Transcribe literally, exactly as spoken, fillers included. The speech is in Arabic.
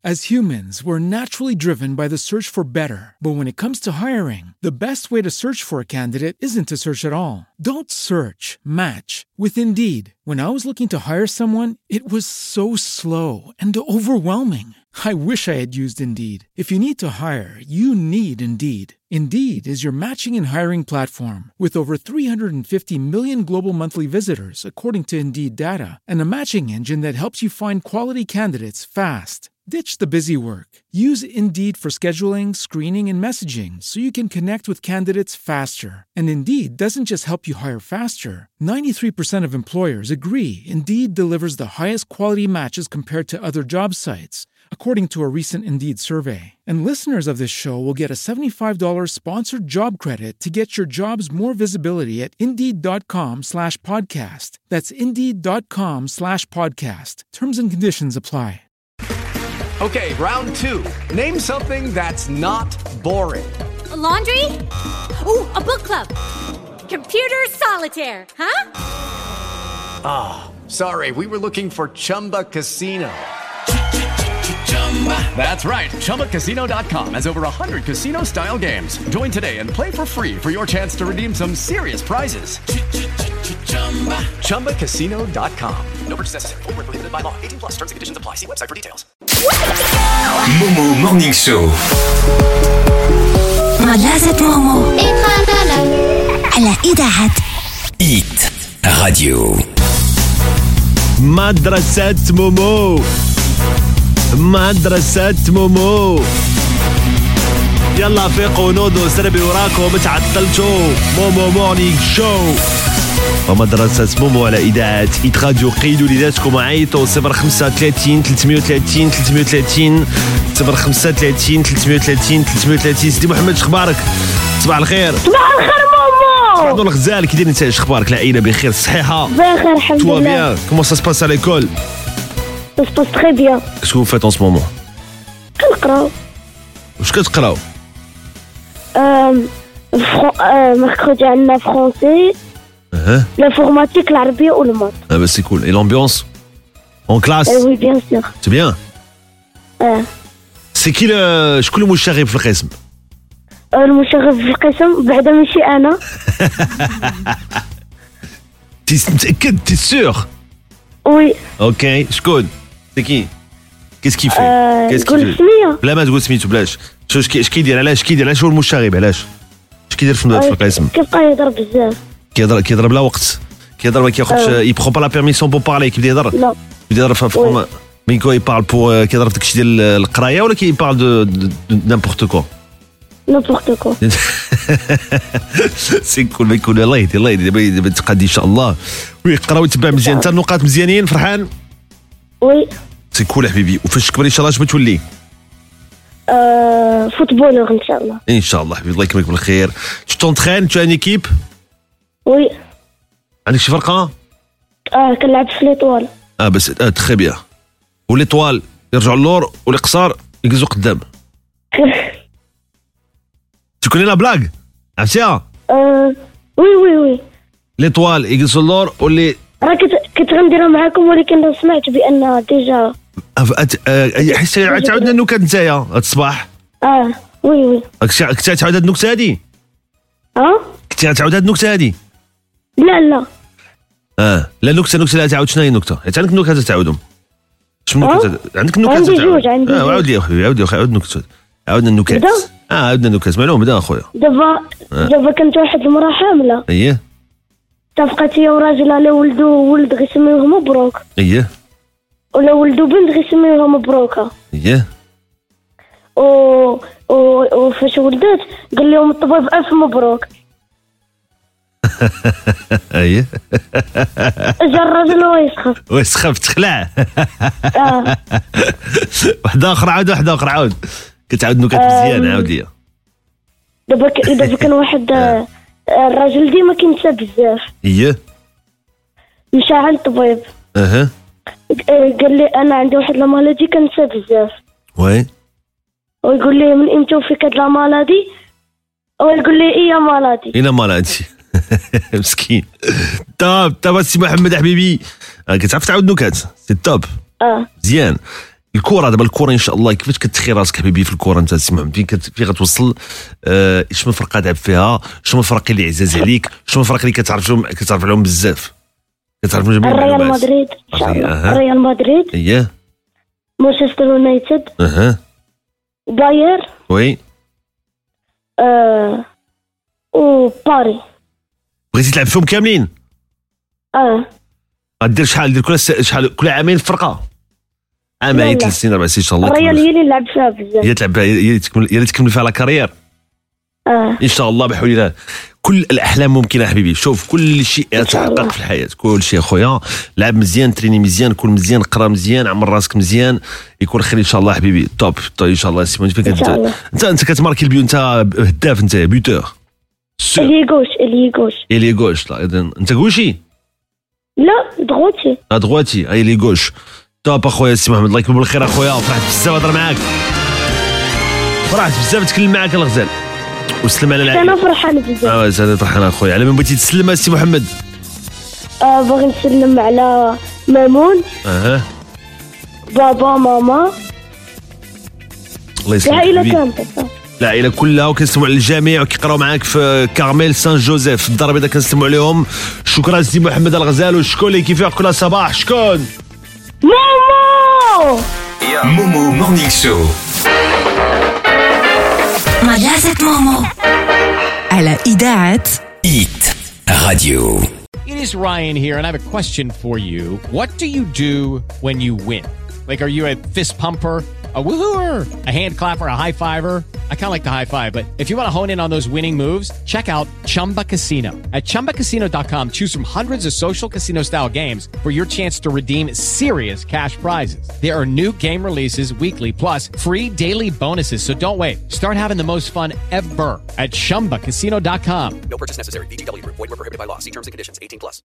As humans, we're naturally driven by the search for better. But when it comes to hiring, the best way to search for a candidate isn't to search at all. Don't search, match with Indeed. When I was looking to hire someone, it was so slow and overwhelming. I wish I had used Indeed. If you need to hire, you need Indeed. Indeed is your matching and hiring platform with over three hundred fifty million global monthly visitors, according to Indeed data, and a matching engine that helps you find quality candidates fast. Ditch the busy work. Use Indeed for scheduling, screening, and messaging so you can connect with candidates faster. And Indeed doesn't just help you hire faster. ninety-three percent of employers agree Indeed delivers the highest quality matches compared to other job sites, according to a recent Indeed survey. And listeners of this show will get a seventy-five dollars sponsored job credit to get your jobs more visibility at Indeed.com slash podcast. That's Indeed.com slash podcast. Terms and conditions apply. Okay, round two. Name something that's not boring. A laundry? Ooh, a book club. Computer solitaire, huh? Ah, oh, sorry, we were looking for Chumba Casino. That's right, Chumba Casino dot com has over one hundred casino-style games. Join today and play for free for your chance to redeem some serious prizes. Chumba Casino dot com. No purchase necessary. Void where prohibited by law. eighteen plus terms and conditions apply. See website for details. Momo Morning Show. مدرسة مومو على إذاعة إيت راديو. مدرسة مومو مدرسة مومو يلا فيقوا نوضوا سربي وراكم تعطلتوا. مومو مورنينغ شو ومدرسة مومو على إذاعة إيت راديو. قيدوا لذاتكم وعيطوا صفر خمسة ثلاثين ثلاثمية وثلاثين ثلاثمية وثلاثين صفر خمسة ثلاثين ثلاثمية وثلاثين ثلاثمية وثلاثين. سيدي محمد شخبارك؟ صباح الخير. صباح الخير مومو. بعد الغزال كي داير انت؟ شخبارك؟ العائلة بخير؟ الصحيحة بخير الحمد لله. Tout va bien. Comment ça se passe à l'école? Ça se passe très bien. Qu'est-ce que vous faites en ce moment? كنقراو. واش كتقراو؟ أم mercredi عندنا français, l'informatique, l'arabe ou le maths. Ah bah c'est cool. Et l'ambiance en classe? Eh oui, bien sûr. C'est bien. اه. C'est qui le شكون المشرف في القسم؟ المشرف في القسم بعدا ماشي انا. تي متأكد؟ تي سور؟ وي. اوكي شكون؟ سي كي؟ كيس كي في؟ كيس كي في؟ بلا ما تقول سميتو بلاش. شو اش كيدير؟ علاش كيدير؟ علاش هو المشاغب؟ علاش؟ اش كيدير في القسم؟ كيبقى يهضر بزاف. كيهضر كيهضر بلا وقت. كيهضر ما كياخذش يي برون با لا بيرميسيون بور بارلي. كيبدا يهضر؟ لا. يبدا يهضر في مي كو يبارل بور كيهضر في داكشي ديال القرايه ولا كيبارل دو نيمبورت كو؟ نيمبورت كو. سي كول ما يكون. الله يهدي الله يهدي. دابا تقادي ان شاء الله ويقرا ويتبع مزيان. انت النقاط مزيانين؟ فرحان؟ وي. سي كول حبيبي. وفاش تكبر ان شاء الله اش بتولي؟ آه فوتبولور ان شاء الله. ان شاء الله حبيبي. الله يكرمك بالخير. Tu t'entraînes? Tu as une équipe? وي. عندك شي فرقه؟ اه كنلعب في ليطوال. اه بس اه تخي بيان. وليطوال يرجعوا اللور والقصار يقزوا قدام. Tu connais la blague? عرفتيها؟ اه وي وي وي. ليطوال يقزوا اللور واللي راه كنت غنديرها معاكم ولكن سمعت بان ديجا حيت تعاودنا النكت نتايا هاد الصباح. اه وي وي. كنتي تعاود هاد النكته هادي؟ اه كنتي تعاود هاد النكته هادي؟ لا لا. اه لا نكته نكته لا تعاود. شنو هي النكته؟ حيت عندك نكته تعاودهم. شنو نكته عندك؟ نكته عندي جوج. عندي اه عاود لي اخويا. عاود لي عاود النكته. عاودنا النكات. اه عاودنا النكات. معلوم بدا اخويا. دابا دابا كانت واحد المراه حامله. اييه. اتفقت هي وراجلها لا ولدو ولد غيسميوه مبروك. اييه. ولا ولدو بنت غيسميوها مبروكه. اييه. و وفاش ولدت قال لهم الطبيب الف مبروك. اييه. جا الراجل ويسخف. ويسخف تخلع. اه. واحد اخر عاود واحد اخر عاود. كتعاود نكت مزيان. عاود ليا. دابا دابا كان واحد الراجل ديما كينسى بزاف. اييه. مشى عند الطبيب. اها. قال لي انا عندي واحد لا مالادي كنسى بزاف. وي. ويقول لي من امتى وفيك هاد لا مالادي؟ ويقول لي ايه مالادي. ايه مالادي. مسكين. توب توب السي محمد حبيبي. كتعرف تعاود نكات؟ سي توب. اه مزيان. الكره دابا الكره ان شاء الله كيفاش كتخي راسك حبيبي في الكره انت سي محمد فين كت... فين غتوصل آه... شنو الفرقه لعب فيها شنو الفرق اللي عزاز عليك شنو الفرق اللي كتعرفهم كتعرف عليهم بزاف كتعرف من جميع الريال مدريد ان شاء الله الريال مدريد اييه مانشستر يونايتد اها باير وي اه وباري بغيتي تلعب فيهم كاملين اه غدير شحال دير كل شحال كل عامين فرقه عامين ثلاث سنين اربع سنين ان شاء الله الريال هي اللي لعب فيها بزاف هي تلعب هي اللي تكمل هي اللي تكمل فيها لا كارير اه ان شاء الله بحول الله كل الاحلام ممكنه حبيبي شوف كل شيء يتحقق في الحياه كل شيء اخويا لعب مزيان تريني مزيان كل مزيان قرا مزيان عمر راسك مزيان يكون خير ان شاء الله حبيبي توب طيب ان شاء الله سيمون فين انت انت انت كتماركي البيو انت هداف انت بيوتور اللي غوش اللي غوش اللي غوش لا اذا انت غوشي لا دغوتي لا دغواتي اي اللي غوش توب اخويا سي محمد الله يكتب بالخير اخويا فرحت بزاف نهضر معاك فرحت بزاف نتكلم معاك الغزال وسلم على العائله انا فرحان بزاف اه زاد فرحان اخويا على من بغيتي تسلم السي محمد آه باغي نسلم على مامون اها بابا ماما الله يسلمك العائله حبيبي. كامله العائله كلها وكنسلموا على الجميع وكيقراو معاك في كارميل سان جوزيف في الدار البيضاء كنسلموا عليهم شكرا سي محمد الغزال وشكون اللي كيفيق كل صباح شكون ماما مومو مورنينغ شو مدرسة مومو على إذاعة إيت راديو. It is Ryan here, and I have a question for you. What do you do when you win? Like, are you a fist pumper, a woohooer, a hand clapper, a high fiver? I kind of like the high five, but if you want to hone in on those winning moves, check out Chumba Casino. At chumba casino dot com, choose from hundreds of social casino-style games for your chance to redeem serious cash prizes. There are new game releases weekly, plus free daily bonuses, so don't wait. Start having the most fun ever at chumba casino dot com. No purchase necessary. V G W Group. Void where prohibited by law. See terms and conditions. eighteen plus.